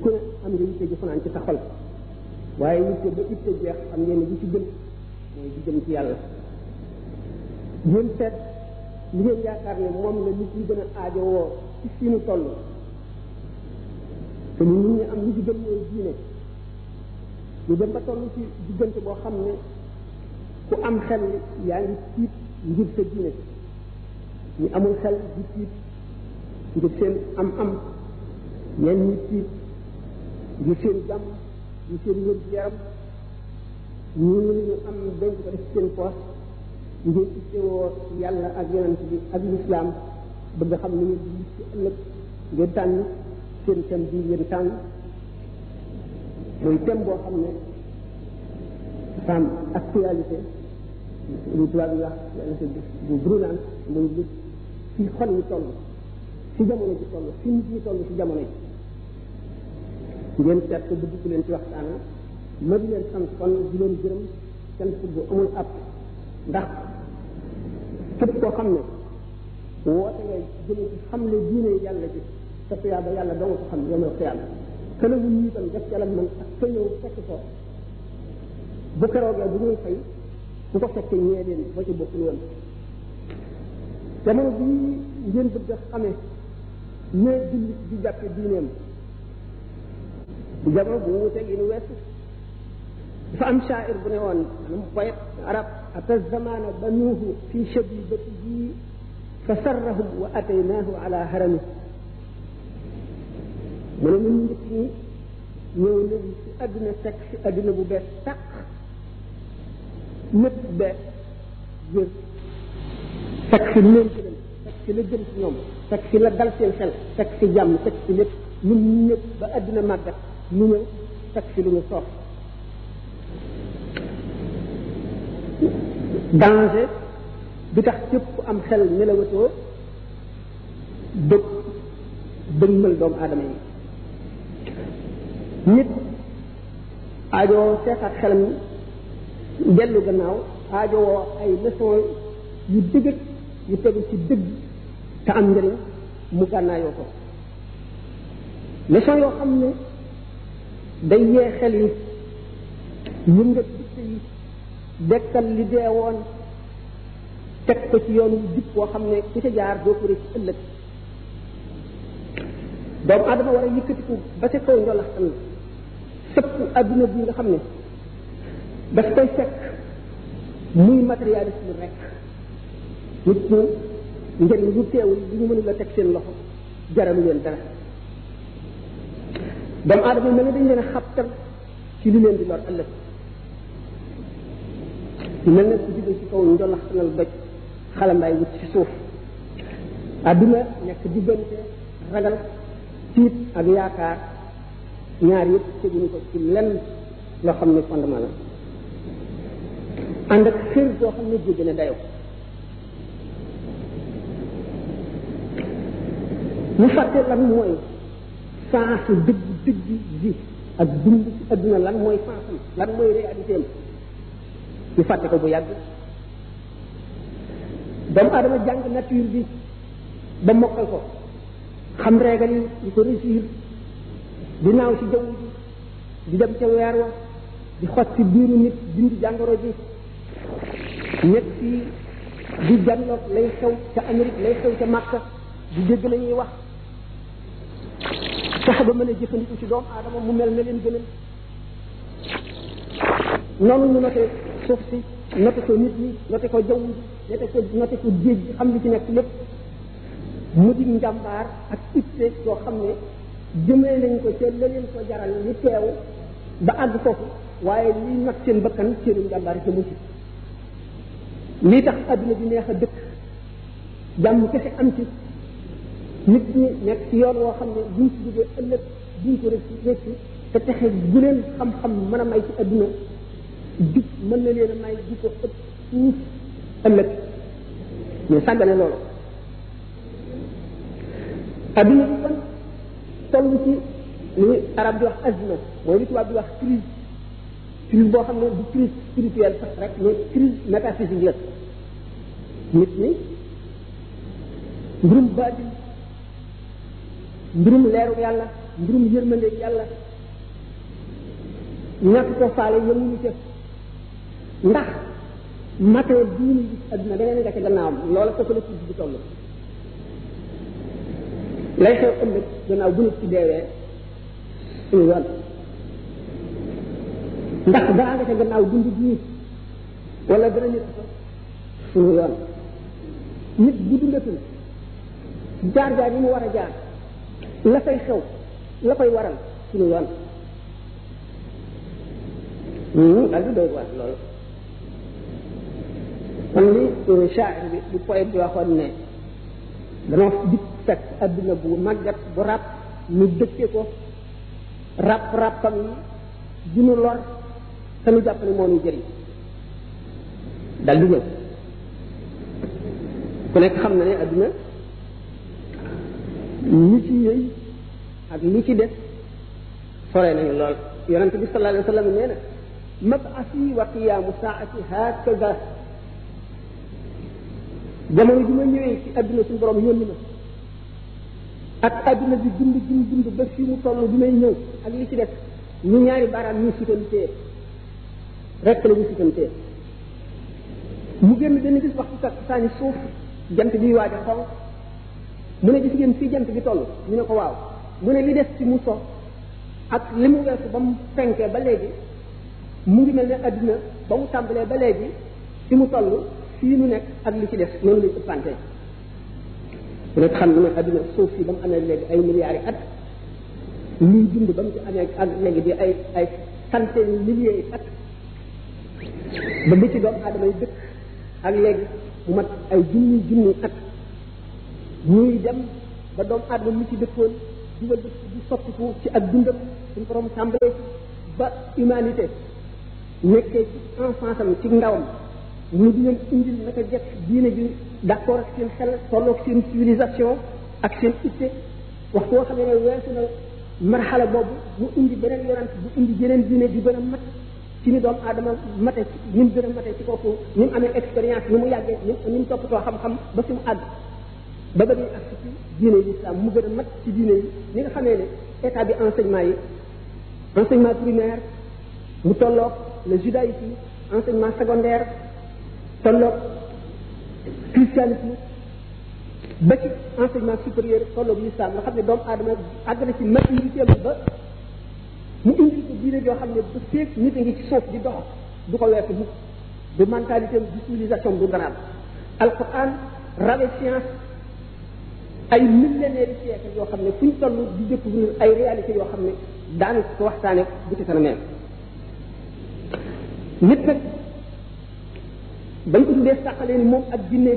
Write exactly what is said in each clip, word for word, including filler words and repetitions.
ku ne am nga yitte ji fanaan ci sa xol waaye yitte ba itte jeex xam ngeen ne bi ci gën mooy di jëm ci yàlla ngeen seet li ngeen yaakaar ne moom la nit ñi gën a aajowoo ci fi ñu toll te nit ñi am li ci gën mooy diine ñu dem ba toll ci diggante boo xam ne ku am xel yaa ngi tiit ngir sa diine ñu amul xel di tiit ngir seen am am ñenn ñi tiit ngir seen jàmm ngir seen wér gu yaram ñu ñu am denc ko def seen poos ngir ittewoo yàlla ak yonent bi ak lislaam bëgg xam ni ngeen di ci ëllëg ngeen tànn seen thème bi ngeen tànn mooy thème boo xam ne femme actualité lu tubaab yi wax bu brûlant muy lu fi xol yi toll fi jamono ji toll fi nit ñi toll fi jamono ji ngeen seet ko bëgg ku leen ci waxtaan ma di leen sant kon di leen gërëm sant bu amul ab ndax képp koo xam ne woote ngay jëlee ci xam ne diine yàlla ji sa tuyaaba yàlla doo nga ko xam yomal xiyaam kële wu ñu itam def ca la man ak ka ñëw fekk ko bu keroogee bu ñuy fay bu ko fekkee ñee leen ba ci bokkul woon jamono bii ngeen bëgg a xamee ñee jullit di jàppe diineem di jamono bu wuuteeg yi nu weesu dafa am shaair bu ne woon maanaam poète arab ata zamana banuuhu fi shabibatihi fa sarrahum wa ataynaahu ala harami mu ne ñun njëkk ñi ñëw nañ ci àdduna fekk ci àdduna bu bees tàq lépp bees jër fekk ci leen gënal fekk ci la gën ci ñoom fekk ci la dal seen xel fekk ci jàmm fekk ci lépp ñun ñëpp ba àdduna màggat ñu ñëw fekk ci lu ñu soof danger bi tax képp ku am xel nelawatoo bëgg dëgmal doomu aadama yi nit aajowoo seetaat xelam dellu gannaaw aajowoo ay leçon yu dëgg yu tegu ci dëgg te am njëriñ mu gànnaayoo ko leçon yoo xam ne day yee xel yi yëngat dikk yi dekkal li dee woon teg ko ci yoonu jub boo xam ne ku ca jaar doo ko rëcc ëllëg doomu aadama war a yëkkatiku ba ca kaw njolaxtan sëpp adduna bi nga xam ne daf koy fekk muy matérialisme rek nit ñi njëriñ lu teewul li ñu mënul la teg seen loxo jaralu leen dara doomu aadama yi mel ne dañ leen a xabtal ci li leen di lor ëllëg mel ne ku jóge ci kaw njolaxtanal doj xalambaay wut ci suuf adduna nekk diggante ragal tiit ak yaakaar ñaar yëpp teguñu ko ci lenn loo xam ne fondement la ànd ak xër boo xam ne jéggi na dayoo ñu fàtte lan mooy sensu dëgg dëgg ji ak dund ci adduna lan mooy sensam lan mooy réalité am ñu fàtte ko bu yàgg doomu aadama jàng nature bi ba mokkal ko xam régal yi di ko réussir di naaw ci jaww ji di dem ca weer wa di xot ci biiru nit dindi jàngoro ji nekk fii di janloog lay xew ca Amérique lay xew ca Makka di dégg la ñuy wax fexe ba mën a jëfandiku ci doomu aadama mu mel na leen gënal noonu ñu noté suuf si noté ko nit ñi noté ko jaww ji noté ko noté ko géej gi xam li ci nekk lépp mu di njàmbaar ak itte yoo xam ne jëmee nañ ko ca la leen ko jaral li teew ba àgg foofu waaye liy nag seen bakkan seenu njàmbaar yi jëmu ci lii tax adduna bi neex a dëkk jàmm kese am ci nit ñi nekk ci yoon woo xam ne buñ ci jógee ëllëg duñ ko rëcc rëcc te texe gu leen xam-xam mën a may ci adduna jub mën na leen a may di ko ëpp fuuf ëllëg mais sàggane loolu adduna bi kon toll ci li arab di wax azma mooy li tubaab di wax crise crise boo xam ne du crise spirituelle sax rek mais crise métaphysique la nit ñi mbirum baatin mbirum leeru yàlla mbirum yërmande yàlla ñàkk ko faale yemuñu ca ndax matee bii ñu gis adduna da ngeen nga ca gannaawam loola foofu la ci di toll lay xew ëllëg gannaaw bu nit ci deewee suñu yoon ndax dara nga ca gannaaw dund bii wala dana nit ko suñu yoon nit bu dundatul jaar jaar yi mu war a jaar la fay xew la koy waral suñu yoon daal di doy waar loolu kon li shaa'ir bi di poète bi waxoon ne dama dikk fekk adduna bu màggat bu ràpp ñu dëkke ko ràpp ràppam yi dinu lor te nu jàpp ne moo ñu jëriñ dal di ñëw ku nekk xam na ne adduna ñi ci yëy ak li ci def sore nañu lool yonente bi sallallahu alayhi wa sallam nee na mab'asi wa qiyaamu saa'ati hakaza jamono ji ma ñëwee ci adduna suñu borom yónni ma ak adduna bi dund dund dund ba fii mu toll bi may ñëw ak li ci def ñu ñaari baaraam ñu sutantee rek la ñu sutantee mu génn benn gis waxtu sax saani suuf jant bi waaj a xonq mu ne gis ngeen fii jant bi toll ñu ne ko waaw mu ne li des ci mu so ak li mu weesu ba mu fenkee ba léegi mu ngi mel ne adduna ba mu tàmbalee ba léegi fi mu toll fii nu nekk ak li ci def noonu lañ ëppante ku nekk xam ne adduna suuf si ba mu amee léegi ay milliards yi at luy dund ba mu ci amee ak léegi di ay ay centaine milliers yi at ba li ci doomu aadama yi dëkk ak léegi mu mat ay junni junni at ñuy dem ba doomu aadama mi ci dëkkoon dugal dëkk di sottiku ci ak dundam suñu borom tàmbalee ba humanité nekkee ci enfance am ci ndawam ñu di leen indil naka jekk diine ji d'accord ak seen xel tolloog seen civilisation ak seen itte waxtu woo xam ne weesu na marxala boobu mu indi beneen yonent bu indi jeneen diine di gën a mat ci ni doomu aadama mate ni mu gën a mate ci kooku ni mu amee expérience ni mu yàggee ni mu toppatoo xam-xam ba fi mu àgg ba ba ñuy ak ci diine yi islam mu gën a mat ci diine yi ni nga xamee ne état bi enseignement yi enseignement primaire mu tolloog le judaïsme enseignement secondaire tolloog christianisme ba ci enseignement supérieur tolloog l'islam nga xam ne doomu aadama àgg na ci maturité ba mu indi ko diine joo xam ne bu feeg nit a ngi ci suuf di dox du ko weesu mukk du mentalité du civilisation du garab alquran rawe science ay millénaires de siècle yoo xam ne fu ñu toll di découvrir ay réalités yoo xam ne daanu ko waxtaane bu ci kanamee nit nag bañ ko tuddee sàqalee ni moom ak jinne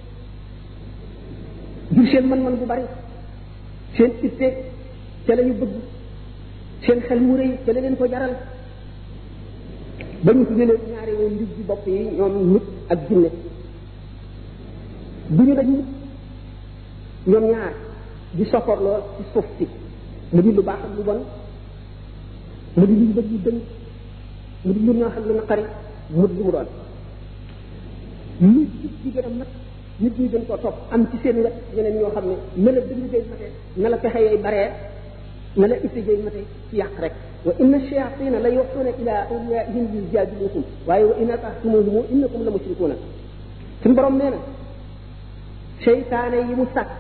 jur seen man-man bu bari seen itte ca la ñu bëgg seen xel mu rëy ca la leen ko jaral ba ñu tuddee leen ñaari woon ndig ci bopp yi ñoom nit ak jinne du ñu dañ nit ñoom ñaar di sopporloo ci suuf si mu di lu baax ak lu bon mu di lu bëgg lu dëng mu di lu neex ak lu naqari mu di lu mu doon nit ci gën a mat nit ñi gën koo topp am ci seen wet ñeneen ñoo xam ne na la dëng jay mate na la pexe yooyu baree na la itte jay mate ci yàq rek wa inna shayatina la yuxuuna ila awliyaihim yujadilukum waaye wa in atahtumuhum innakum la mushrikuuna suñu borom nee na seytaane yi mu sàkk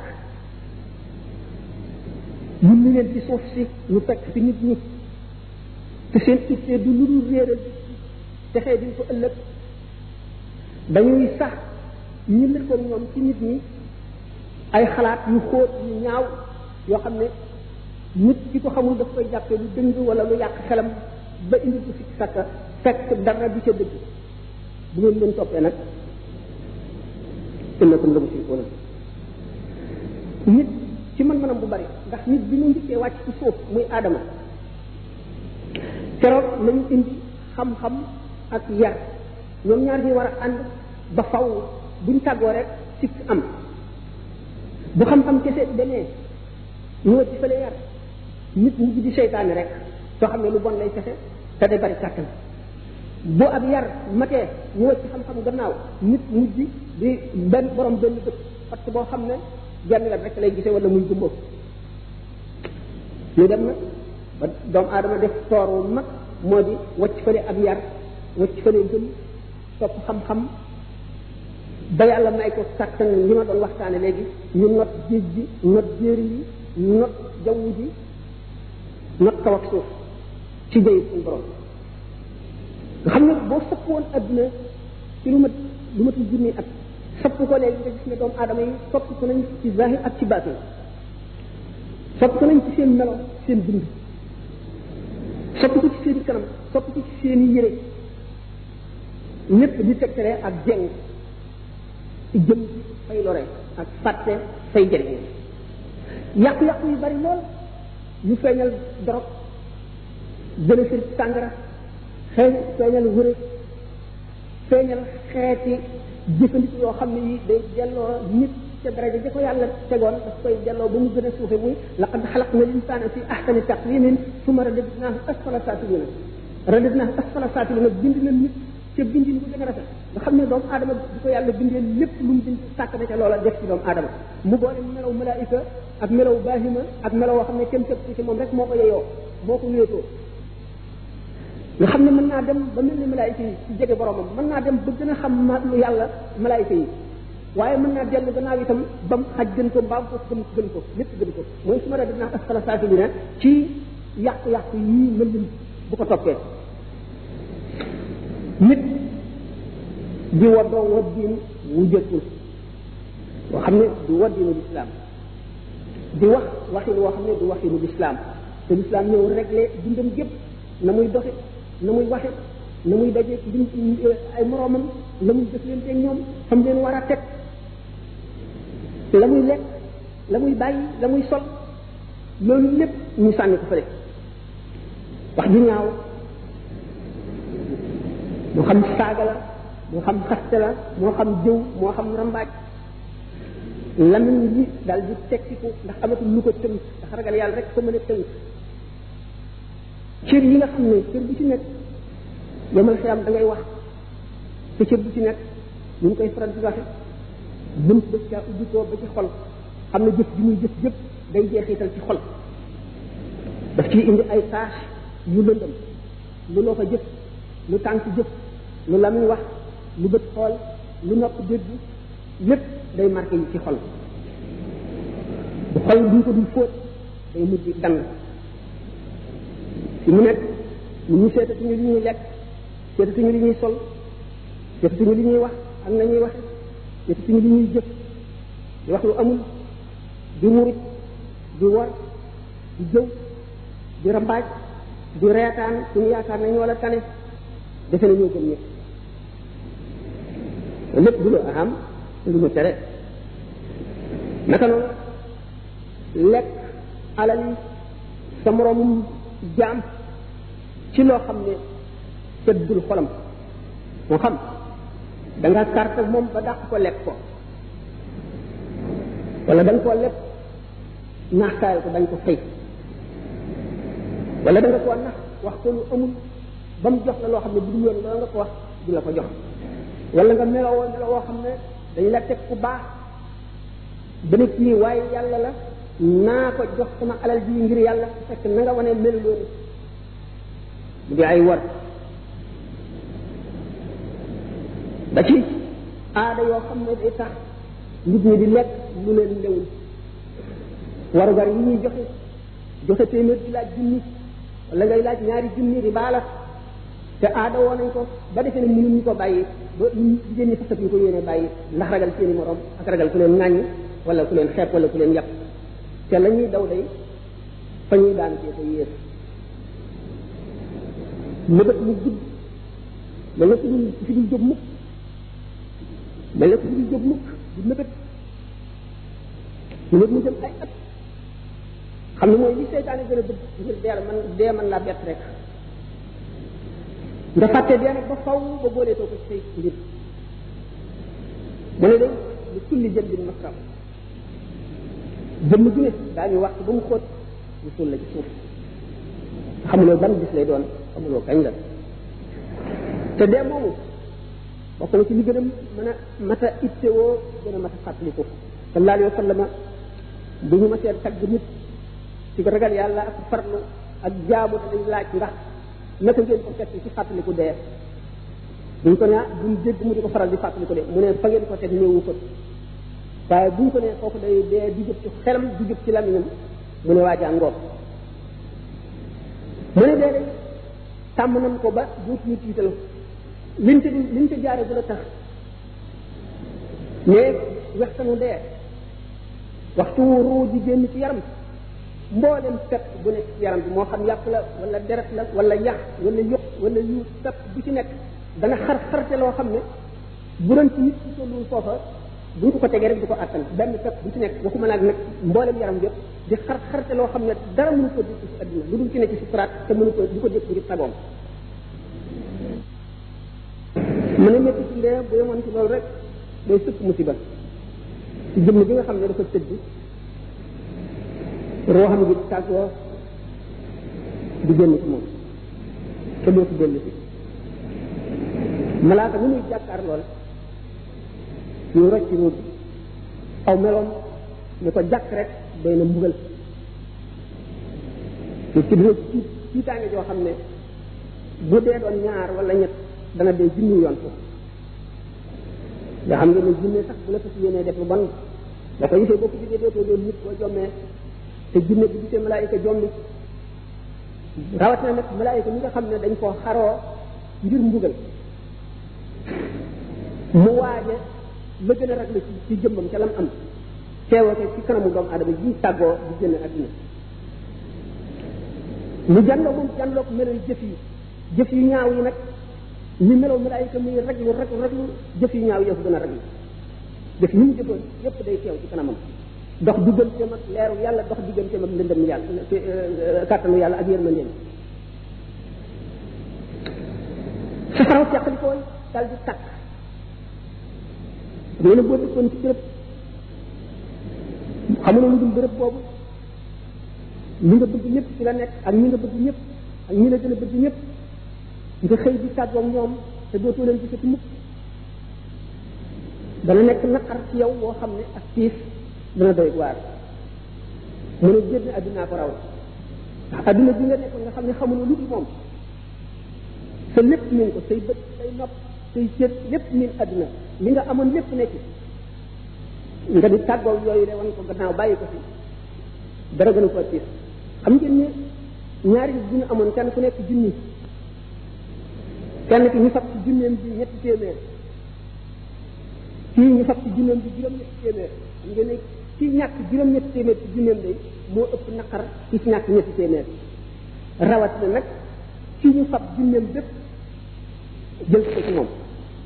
yulli leen ci suuf si ñu fekk fi nit ñi te seen itte du lu dul réeral texee diñ ko ëllëg dañuy sax ñu lëkkoon ñoom ci nit ñi ay xalaat yu xóot yu ñaaw yoo xam ne nit ki ko xamul daf koy jàppee lu dëng wala lu yàq xelam ba indi ko sikk sàkka fekk dara du ca dëgg bu ngeen leen toppee nag innakum la mushrikuuna nit ci mën-mënam bu bari ndax nit bi mu njëkkee wàcc ci suuf muy aadama keroog lañu indi xam-xam ak yar ñoom ñaar ñi war a ànd ba faw buñ tàggoo rek sikk am bu xam-xam kese demee ñu wëcc fële yar nit mujj di seytaane rek soo xam ne lu bon lay kese te day bari kàttan bu ab yar matee ñu wëcc xam-xam gannaaw nit mujj di benn borom benn dëkk parce que boo xam ne genn wet rek lay gisee wala muy gumbo ñu dem nag ba doomu aadama def toor wu mag moo di wacc fële ak yar wacc fële gëm topp xam-xam ba yàlla may ko kàttan li ma doon waxtaane léegi ñu not géej gi not jéeri yi not jaww ji not kaw ak suuf ci jëyit suñu borom nga xam ne boo sopp woon adduna ci lu mat lu matul junni at sopp ko léegi nga gis ne doomu aadama yi sopp ko nañ ci zahir ak ci baatin sopp ko nañ ci seen melo seen dund sopp ko ci seen kanam sopp ko ci seen yére lépp di tegtale ak jeng ci jëm fay lore ak fàtte fay jëriñ yàqu-yàqu yu bari lool yu feeñal dorog gën a sër sàngara xëy feeñal wërë feeñal xeeti jëfandiku yoo xam ne yi day delloo nit ca daraja ja ko yàlla tegoon daf koy delloo ba mu gën a suufe muy laqad xalaqna linsaana fi ahsani taqwimin summa radadnaahu asfala saafilina radadnaahu asfala saafilina bind na nit ca bindin bu gën a rafet nga xam ne doomu aadama di ko yàlla bindee lépp lu mu bind sàkk na ca loola def ci doomu aadama mu boole melaw malaayika ak melaw baahima ak melaw woo xam ne kenn képp ci moom rek moo ko yeyoo moo ko wéetoo nga xam ne mën naa dem ba mel ni malaayika yi ci jege boromam mën naa dem ba gën a xam ma lu yàlla malaayika yi waaye mën naa dellu gannaaw itam ba mu xaj gën ko mbaam ko gën gën ko lépp gën ko mooy su ma rek dinaa asfala saafilina ci yàqu-yàqu yii mën lim bu ko toppee nit di waddoo waddiin wu jëkkul boo xam ne du waddiinu lislaam di wax waxin woo xam ne du waxinu lislaam te lislaam ñëw réglé dundam gépp na muy doxe na muy waxe na muy daje ay moroomam la muy jëflante ak ñoom xam leen war a teg la muy lekk la muy bàyyi la muy sol loolu lépp ñu sànni ko fële wax ju ñaaw moo xam saaga la moo xam xaste la moo xam jëw moo xam rambaaj lamiñ yi daal di tekkiku ndax amatul lu ko tënk ndax ragal yàlla rek ko mën a tënk cër yi nga xam ne cër bu ci nekk yomal xiyam da ngay wax te cër bu ci nekk ñu ngi koy faral di waxe bunt ba caa ubbi ko ba ci xol xam ne jëf ji muy jëf jëpp day jeexital ci xol daf ciy indi ay tâche yu lëndëm lu loo fa jëf lu tànk jëf lu lamiñ wax lu bët xool lu nopp dégg lépp day marqué yi ci xol bu xol duñ ko dul fóot day mujj dang fi mu nekk ñu ñu seetatuñu li ñuy lekk seetatuñu li ñuy sol seetatuñu li ñuy wax ak nañuy waxe seetatuñu li ñuy jëf di wax lu amul di murit di wor di jëw di rambaaj di reetaan suñu yaakaar nañu wala tane defe na ñoo gëm ñëpp lépp du lu aham lu ñu tere naka noonu lekk alal yi sa moroomum jaam ci loo xam ne tëddul xolam moo xam da nga carte moom ba dàq ko lekk ko wala da nga koo lekk naaxtaayal ko dañ ko fay wala da nga koo nax wax ko lu amul ba mu jox la loo xam ne bu dul yoon loolu nga ko wax du la ko jox wala nga meloo meloo woo xam ne dañ la teg ku baax ba ne kii waaye yàlla la naa ko jox sama alal ji ngir yàlla fekk na nga wane melu loolu mu di ay war ba ci aada yoo xam ne day tax nit ñi di lekk lu leen lewul warugar yi ñuy joxe joxe téeméer di laaj junni wala ngay laaj ñaari junni di baala te aada woo nañ ko ba defee ne mënuñ ñu ko bàyyi ba jigéen ñi fasat ñu ko yéene bàyyi ndax ragal seeni morom ak ragal ku leen ŋàññ wala ku leen xeeb wala ku leen yàpp te la ñuy daw day fa ñuy daan cee ko yées mëbët mu gudd mel na fi dul fi dul jóg mukk mel na fi dul jóg mukk du mëbët mëbët mu jëm ay at xam ne mooy li seytaane gën a bëgg ngir dee man dee man laa bett rek nga fàtte dee nag ba faw ba booleetoo ko ci say mbir mu ne day lu kulli jël bin masram jëmm ju ne daañu wax ba mu xóot ñu suul la ci suuf xamuloo ban bis lay doon xamuloo kañ la te dee moomu bokk na ci li gën a mën a mat a ittewoo gën a mat a fàttaliku sallallahu alayhi wa sallam bu ñu ma seet tagg nit ci ragal yàlla ak farlu ak jaamu dañ laaj ndax naka ngeen ko fekk ci fàttaliku dee buñ ko ne buñ dégg mu di ko faral di fàttaliku dee mu ne fa ngeen ko teg néewu fa waaye buñ ko ne kooku day dee di jëp ci xelam di jëp ci lamiñam mu ne waajaa ngoog mu ne dee day tàmm nañ ko ba dootuñu tiital liñ te liñ te jaare bu la tax mais waxtanu dee waxtu ruu di génn ci yaram mboolem pepp bu nekk ci yaram bi moo xam yàpp la wala deret la wala yax wala yëq wala yu pepp bu ci nekk dana xar xarte loo xam ne bu doon ci nit ci tollul foofa buñ ko ko tegee rek du ko attan benn pepp bu ci nekk waxuma naag nag mboolem yaram yëpp di xar xarte loo xam ne dara mënu ko dégg ci adduna lu dul ci ne ci sukuraat te mënu ko du ko dégg ngir sagoom mu ne métti ci ndee bu yemoon ci loolu rek day sëkk musiba ci jëmm bi nga xam ne dafa tëdd roo xam ngi tàggoo di génn ci moom te doo ci dellu si malaaka mu muy jàkkaar lool ñu rocc ruut aw meloom ñu ko jàkk rek day na mbugal te ci dina ci ci tànge joo xam ne bu dee doon ñaar wala ñett dana dee junni yoon foofu nga xam nga ne jinne sax bu la fas yéenee def lu bon da ko gisee boo ko gisee dootoo doon nit boo jommee te jinne bi gisee malaayika jombi rawatina nag malaayika mi nga xam ne dañ koo xaroo ngir mbugal mu waaje la gën a raglu ci ci jëmmam ca lam am teewate ci kanamu doomu adama ji tàggoo di génn adduna mu jànloo moom jànloo ko melo jëf yi jëf yu ñaaw yi nag ñu meloo malaayika muy raglu raglu raglu jëf yu ñaaw yëf gën a raglu jëf yi mu jëfoon yëpp day teew ci kanamam dox digganteem ak leeru yàlla dox digganteem ak lëndëm yàlla kàttanu yàlla ak yërmandeem safaraw teqali ko dal di tàkk nee na boo dëkkoon ci bërëb xamuloo lu dul bërëb boobu li nga bëgg ñëpp ci la nekk ak ñi nga bëgg ñëpp ak ñi la gën a bëgg ñëpp nga xëy di tàggoog ñoom te dootoo leen gisati mukk dana nekk naqar ci yow boo xam ne ak tiis dana doy waar mu ne génn addunaa ko raw ndax adduna bi nga nekkoon nga xam ne xamuloo lu dul moom sa lépp min ko say bët say nopp say cër lépp min adduna li nga amoon lépp nekk nga di tàggoog yooyu de wan ko gannaaw bàyyi ko fi dara gënu ko tiis xam ngeen ne ñaari bu ñu amoon kenn ku nekk junni kenn ki ñu fab ci junneem bi ñetti téeméer kii ñu fab ci junneem bi juróom-ñetti téeméer xam ngeen ne kii ñàkk juróom-ñetti téeméer ci junneem day moo ëpp naqar ci ci ñàkk ñetti téeméer rawat na nag kii ñu fab junneem bépp jël ko ci moom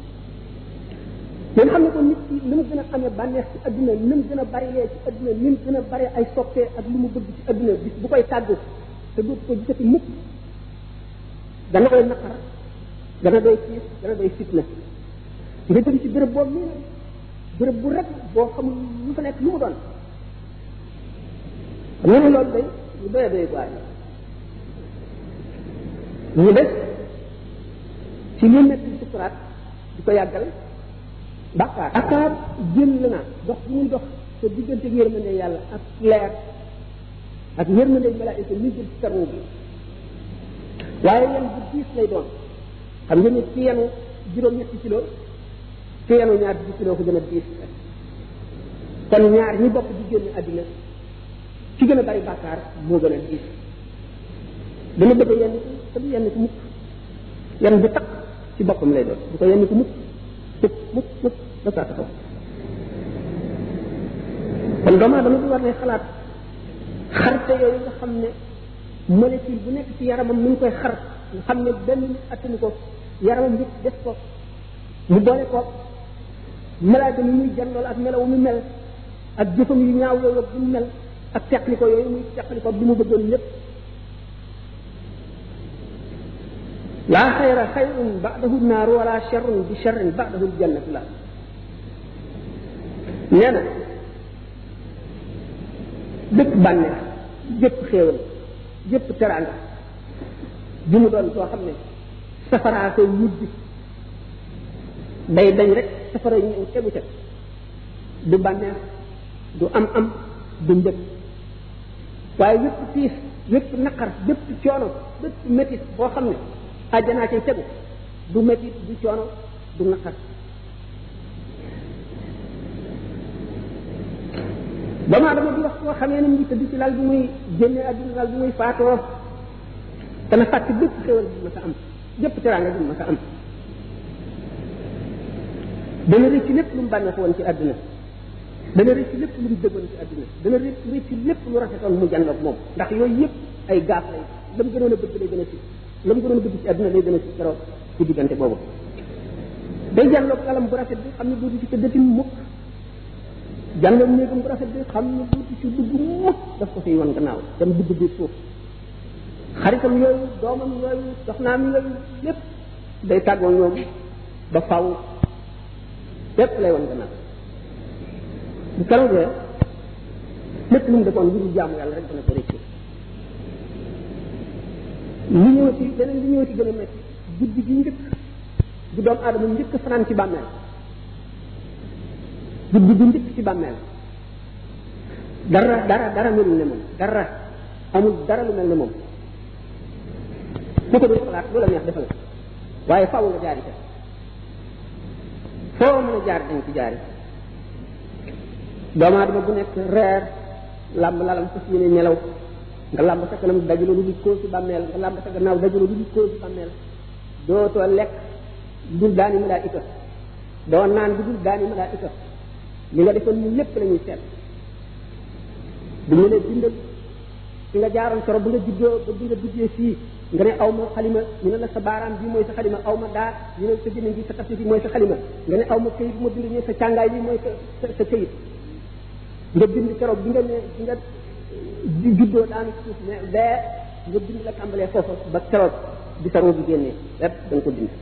ngeen xam ne ko nit ki li mu gën a amee bànneex ci adduna ni mu gën a bari lee ci adduna ni mu gën a bari ay soppee ak lu mu bëgg ci adduna bis bu koy tàggu te dootu ko gisati mukk dana koy naqar dana doy tiis dana doy fitna nga jëm ci béréb boobu nii béréb bu rek boo xamul lu fa nekk lu mu doon xam nga ne loolu day lu doy doy waar ñu des ci li nekk ci sukuraat di ko yàggal bàkkaar bàkkaar jël la na dox bu muy dox te diggante ak yërmande yàlla ak leer ak yërmande malaayika ñu jël ci sarwu bi waaye yan bu diis lay doon xam nga ne ci yenu juróom-ñetti kilo ci yenu ñaar di kilo ko gën a diis kon ñaar ñi bokk di génn àddina ci gën a bari bàkkaar moo gën a diis dana bëgg yenn te du yenn ko mukk yenn bu takk ci boppam lay doon du ko yenn ko mukk mukk mukk mukk ba saa taxaw kon doomu aadama bi war ne xalaat xarte yooyu nga xam ne molécule bu nekk ci yaramam mi ngi koy xar nga xam ne benn nit attanu ko yaramam yëpp def ko mu boole ko malaaka mi muy janlool ak melaw mu mel ak jëfam yu ñaaw yooyu ak bu mu mel ak teqli ko yooyu muy teqli ko bi mu bëggoon lépp laa xayra xayrun ba'dahu naaru wala sharrun bi sharrin ba'dahu ljannatu la nee na bépp bànneex bépp xéewal bépp teraanga bi mu doon soo xam ne safaraa koy wujj day dañ rek safara ñëw tegu ca du bànneex du am am du mbëg waaye wépp tiis wépp naqar bépp coono bépp métit boo xam ne àjjanaa cay tegu du métit du coono du naqar doomu aadama bi wax koo xamee ne mu ngi tëdd ci lal bi muy génne àdduna lal bi muy faatoo dana fàtte bépp xéwal bi ma sa am bépp teraanga bi ma sa am dana rëcc lépp lu mu bànneex woon ci àdduna dana rëcc lépp lu mu dëggoon ci àdduna dana rëcc lépp lu rafetoon mu jànloog moom ndax yooyu yëpp ay gaaf lay la mu gënoon a bëgg lay gën a si la mu gënoon a bëgg ci àdduna lay gën a si keroog ci diggante boobu day jànloog alam bu rafet bi xam ne dootu ci tëddati mukk jànloog néegam bu rafet bi xam ne dootu ci dugg mukk daf ko fiy wan gannaaw dem dugg biir suuf xaritam yooyu doomam yooyu soxnaam yooyu lépp day tàggoo ñoom ba faw lépp lay wan gannaaw bu keroogee lépp lu mu defoon lu dul jaamu yàlla rek dana ko rëcc li ñëw ci beneen li ñëw ci gën a métti guddi gi njëkk bu doomu aadama njëkk fanaan ci bàmmeel guddi gi njëkk ci bàmmeel dara dara dara melul ne moom dara amul dara lu mel ne moom ku ko dul xalaat lu la neex defal waaye faaw nga jaari ca foo mën a jaar dañ ci jaari doomu aadama bu nekk reer làmb lalam fas yéene nelaw nga làmb sa kanam dajuloo lu di kóol ci bàmmeel nga làmb sa gannaaw dajuloo lu di kóol ci bàmmeel dootoo lekk dul daani malaayika doo naan bi dul daani malaayika li nga defoon ñu lépp la ñuy seet bu ñu lee bindal fi nga jaaroon soro bu nga juddoo ba bi nga duggee fii nga ne aw ma xalima ñu ne la sa baaraam bi mooy sa xalima aw ma daar ñu ne sa jëmmiñ bi sa tafsir bi mooy sa xalima nga ne aw ma këyit bu ma bind ñu sa càngaay bi mooy sa sa këyit nga bind keroog bi nga ne bi nga juddoo daanu suuf ne bee nga bind la tàmbalee foofa ba keroog bi sa roo bi génnee lépp da nga ko bind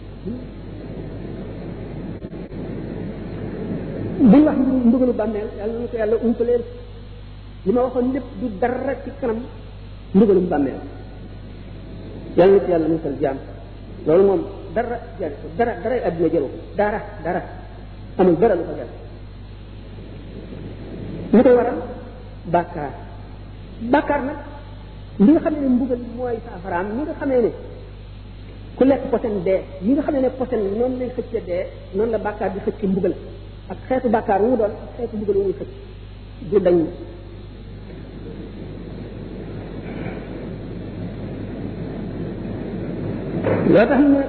buñ wax mbugalu bàmmeel yàlla na ko yàlla umpaleen li ma waxoon lépp du dara ci kanam mbugalu bàmmeel yàlla na ci yàlla musal jaam loolu moom dara jar ko dara dara àddina jëlu dara dara amul dara lu ko jar lu koy waral bàkkaar bàkkaar nag li nga xam ne mbugal mooy saafaraam li nga xamee ne ku lekk posen dee yi nga xamee ne posen noonu lay xëcce dee noonu la bàkkaar di xëcc mbugal ak xeetu bàkkaar wu mu doon ak xeetu mbugal wu muy xëcc du dañ loo tax ne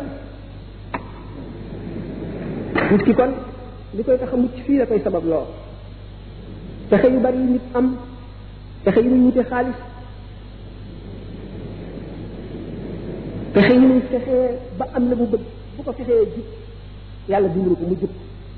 nit ki kon li koy tax a mucc fii la koy sabab loo pexe yu bari yu nit am pexe yu ñuy wute xaalis pexe yu ñuy fexee ba am la mu bëgg bu ko fexee jub yàlla dimbali ko mu jub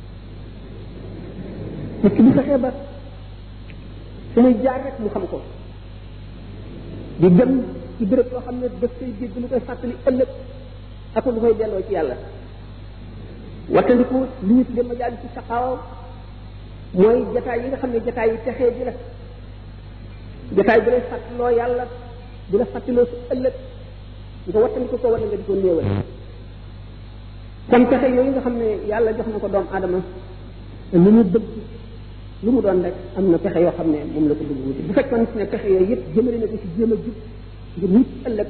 nit ki bu fexee ba su muy jaar rek mu xam ko di dem ci béréb yoo xam ne daf koy dégg lu koy fàttali ëllëg ak lu koy delloo ci yàlla wattandiku li ñu tuddee majaali ci saqaaw mooy jataay yi nga xam ne jataay yi texee ji la jataay bu lay fàttaloo yàlla bu la fàttaloo su ëllëg nga wattandiku ko wala nga di ko néewal kon pexe yooyu nga xam ne yàlla jox na ko doomu aadama lu mu bëgg lu mu doon rek am na pexe yoo xam ne moom la ko bëgg wuti bu fekkoon ne pexe yooyu yëpp jëmale na ko ci jéem a jub ngir mucc ëllëg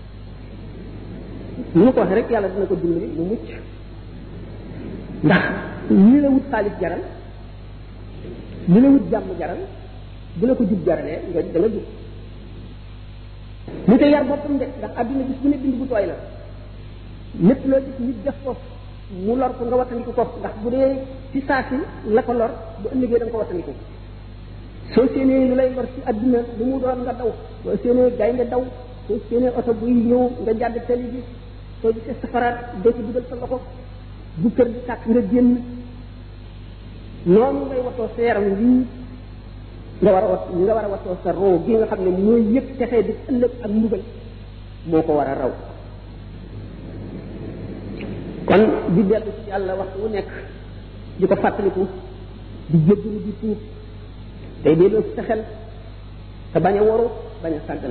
ni ma ko waxee rek yàlla dina ko dimbali mu mucc ndax li la wut xaalis jaral li la wut jàmm jaral bu la ko jub jaralee nga da nga jub mu te yar boppam de ndax adduna gis bu ne bind bu tooy la lépp loo gis nit def ko mu lor ko nga wattandiku ko ndax bu dee ci saa si la ko lor bu ëllëgee da nga ko wattandiku soo séenee lu lay lor ci adduna lu mu doon nga daw soo séenee gaynde daw soo séenee oto buy ñëw nga jàdd tali bi soo gisee safaraat doo ci dugal sa loxo bu kër gi tàkk nga génn noonu ngay watoo sa yaram lii nga war a wat nga war a watoo sa roo gi nga xam ne mooy yëpp texee di ëllëg ak mbugal moo ko war a raw kon di dellu ci yàlla waxtu wu nekk di ko fàttaliku di jéggalu di tuub tey delloo ci sa xel te bañ a waru bañ a sàggan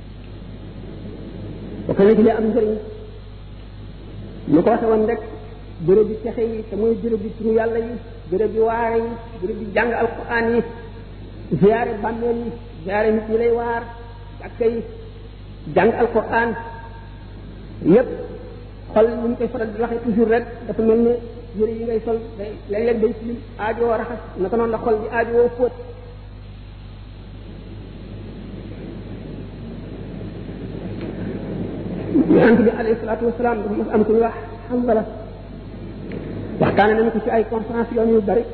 bokk na ci li am njëriñ ñu ko waxe woon rek béréb bi texe yi te mooy béréb bi turu yàlla yi béréb bi waare yi béréb bi jàng alquran yi ziyaare bàmmeel yi ziyaare nit ñi lay waar jàkka yi jàng alquran yépp xol ni ñu koy faral di waxee toujours rek dafa mel ne yëre yi ngay sol day léeg-léeg day tilim aajo raxas naka noonu la xol di aajo woo fóot yonent bi alayhi salaatu wasalaam dafa mas am ku ñu wax Hanzala waxtaane nañu ko ci ay conférence yoon yu bari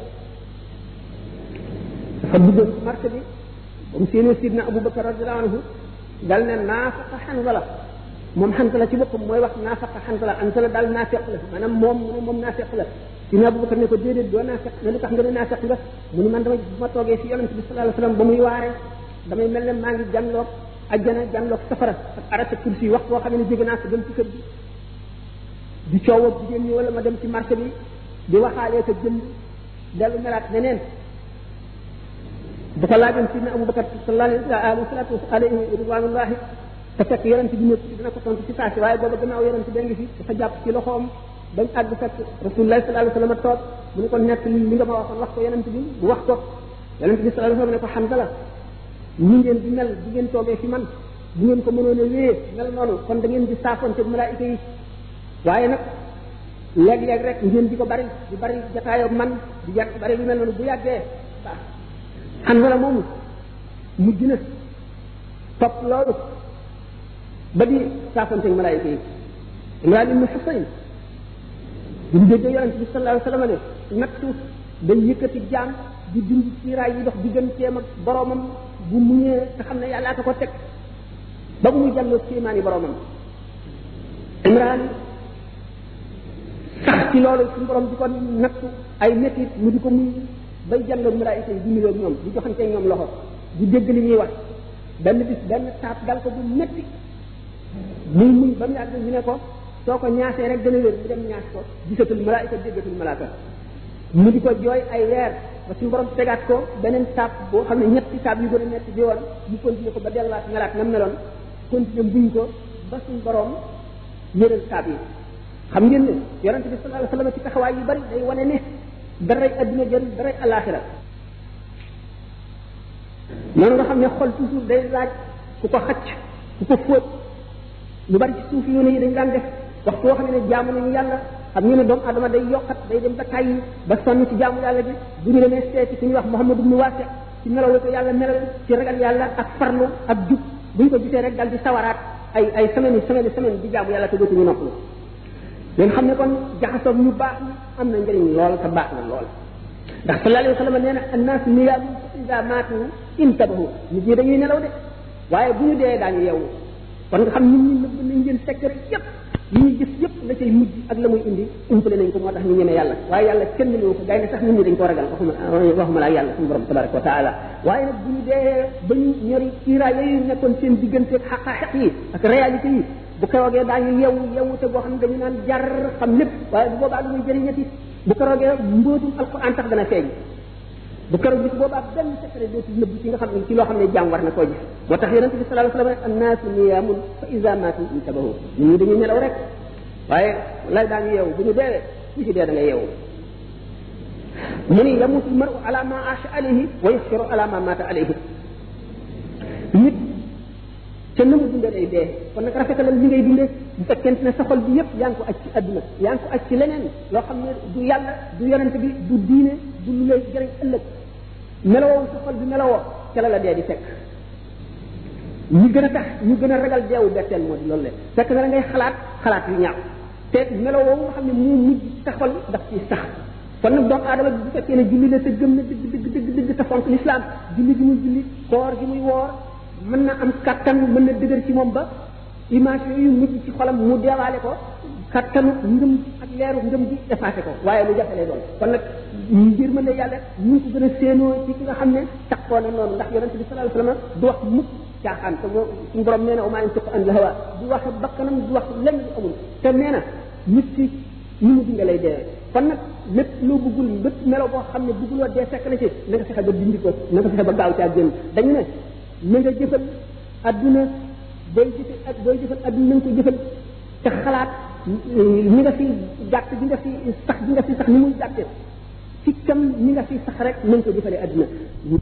dafa duggoon ci marché bi ba mu séenee sidna Abubakar radiyallahu anhu dal ne naafaqa Hanzala moom Hanzala ci boppam mooy wax naafaqa Hanzala Hanzala daal naafeq la maanaam moom mu ne moom naafeq la sidna Abubakar ne ko déedéet doo naafeq ne lu tax nga ne naafeq nga mu ni man dama bu ma toogee fi yonent bi sallallahu alayhi wasallam ba muy waare damay mel ne maa ngi jànloog ajjana jànloog safara ak arata kursi wax boo xam ne jóge naa ko dem ci kër bi di coow ak jigéen ñi wala ma dem ci marché bi di waxaalee ko jënd dellu melaat neneen bu ko laajoon sidna Abubakar sallallahu alayhi wa alayhi ridwanullahi te fekk yonent bi nekk dina ko tontu ci saasi waaye booba gannaaw yonent bi ngi fi dafa jàpp ci loxoom bañ àgg fekk rasulullah sallallahu alayhi wa sallam toog mu ne ko nekk li nga ma waxoon wax ko yonent bi mu wax ko yonent bi sallallahu alayhi wa sallam ne ko Hanzala ni ngeen di mel di ngeen toogee fi man bu ngeen ko mënoon a wéyee mel noonu kon da ngeen di saafonte malaayika yi waaye nag léeg-léeg rek ngeen di ko bari di bari jataayoo man di yàgg bari lu mel noonu bu yàggee baax Hanzala moomu mujj na topp loolu ba di saafonte malaayika yi Imraan ibn Husayn bu ñu déggee yonent bi sallallahu alayhi wa sallam ne nattu day yëkkati jaam di dindi siiraay yi dox digganteem ak boromam bu muñee te xam ne yàllaa ko ko teg ba bu muy jàlloo kéemaani boromam Imraan sax ci loolu suñu borom di ko nattu ay métit mu di ko muy bay jàlloog malaayika yi di nuyoo ñoom di joxante ñoom loxo di dégg li ñuy wax benn bis benn taab dal ko bu métti muy muñ ba mu yàgg ñu ne ko soo ko ñaasee rek dana wér mu dem ñaas ko gisatul malaayika déggatul malaaka mu di ko jooy ay weer ba suñu borom tegaat ko beneen taab boo xam ne ñetti taab yu gën a metti bi woon mu continuer ko ba delluwaat melaat na meloon continuer buñ ko ba suñu borom yëral taab yi xam ngeen ne yonente bi sallallahu alayhi wasallam ci taxawaay yu bari day wane ne daray adduna jël daray alaxira noonu nga xam ne xol toujours day laaj ku ko xacc ku ko fóot lu bari ci suuf yoon yi dañ daan def waxtu woo xam ne jaamu nañu yàlla xam ngeen ne doomu adama day yokkat day dem ba tàyyi ba sonn ci jaamu yàlla bi bu ñu demee seeti ku ñuy wax Muhammad ibn Wasi ci melaw ko yàlla melal ci ragal yàlla ak farlu ak jub bu ñu ko gisee rek dal di sawaraat ay ay semaine yi semaine semaine di jaamu yàlla te dootuñu noppalu leen xam ne kon jaxasoog ñu baax ñi am na njëriñ lool te baax na lool ndax sallallahu alayhi wa sallam nee na annaas niyaamun fa iza maatu intabahu nit ñi dañuy nelaw de waaye bu ñu dee daañu yeewu kon nga xam nit ñi nëbb nañ leen secret yépp yi ñuy gis yépp la cay mujj ak la muy indi umpale nañ ko moo tax ñu ñeme yàlla waaye yàlla kenn ñëw ko gaynde sax nit ñi dañ ko ragal waxuma waxuma laa yàlla suñu borom tabaraka wa taala waaye nag bu ñu dee ba ñu ñori kiiraay yooyu nekkoon seen diggante ak xaqaaxiq yi ak réalité yi bu keroogee daañu yeewu yeewu te boo xam ne dañu naan jar xam lépp waaye bu boobaa lu muy jëriñati bu keroogee mbóotum alquran tax dana feeñ bu keroog bis boobaa benn secret dootul nëbb ci nga xam ne ci loo xam ne jaam war na koo gis moo tax yonente bi sallallahu alayhi wasallam annaasu niyaamun fa iza maatu intabahu nit ñi dañuy nelaw rek waaye lay daañu yeewu bu ñu deewee ku ci dee da nga yeewu mu ni yamutu maru ala ma aasha alayhi wa yasfiru ala ma maata alayhi nit te na mu dundee day dee kon nag rafetalal li ngay dundee bu fekkente ne sa xol bi yépp yaa ngi ko aj ci adduna yaa ngi ko aj ci leneen loo xam ne du yàlla du yonente bi du diine du lu lay jëriñ ëllëg melowoo sa xol bi melowoo ca la la dee di fekk ñi gën a tax ñu gën a ragal deewu betteel moo di loolu le fekk na la ngay xalaat xalaat yu ñaaw te melowoo nga xam ne moo mujj sa xol daf ci sax kon nag doomu aadama bi bu fekkee ne julli la te gëm na dëgg dëgg dëgg dëgg te fonk l'islam julli gi muy julli koor gi muy woor mën na am kattan mën na dëgër ci moom ba image yooyu mujj ci xolam mu deewaale ko kattanu ngëm ak leeru ngëm gi effacé ko waaye lu jafe lay doon kon nag ngir mën ne yàlla ñu ko gën a séenoo ci ki nga xam ne taxoo na noonu ndax yonente bi sallallahu alayhi wasallam du wax mukk caaxaan te suñu borom nee na umaa yantiqu anil hawa du wax bakkanam du wax lenn lu amul te nee na nit ci ñu mu dinga lay dee kon nag lépp loo bëggul lépp melo boo xam ne bëgguloo dee fekk na ci na nga fexe ba dindi ko na nga fexe ba gaaw caa génn dañu ne na nga jëfal adduna booy jëfal ak booy jëfal adduna na nga ko jëfal te xalaat ni nga fi gàtt bi nga fi sax bi nga fi sax ni muy gàtte ci kam ni nga fi sax rek na nga ko jëfalee adduna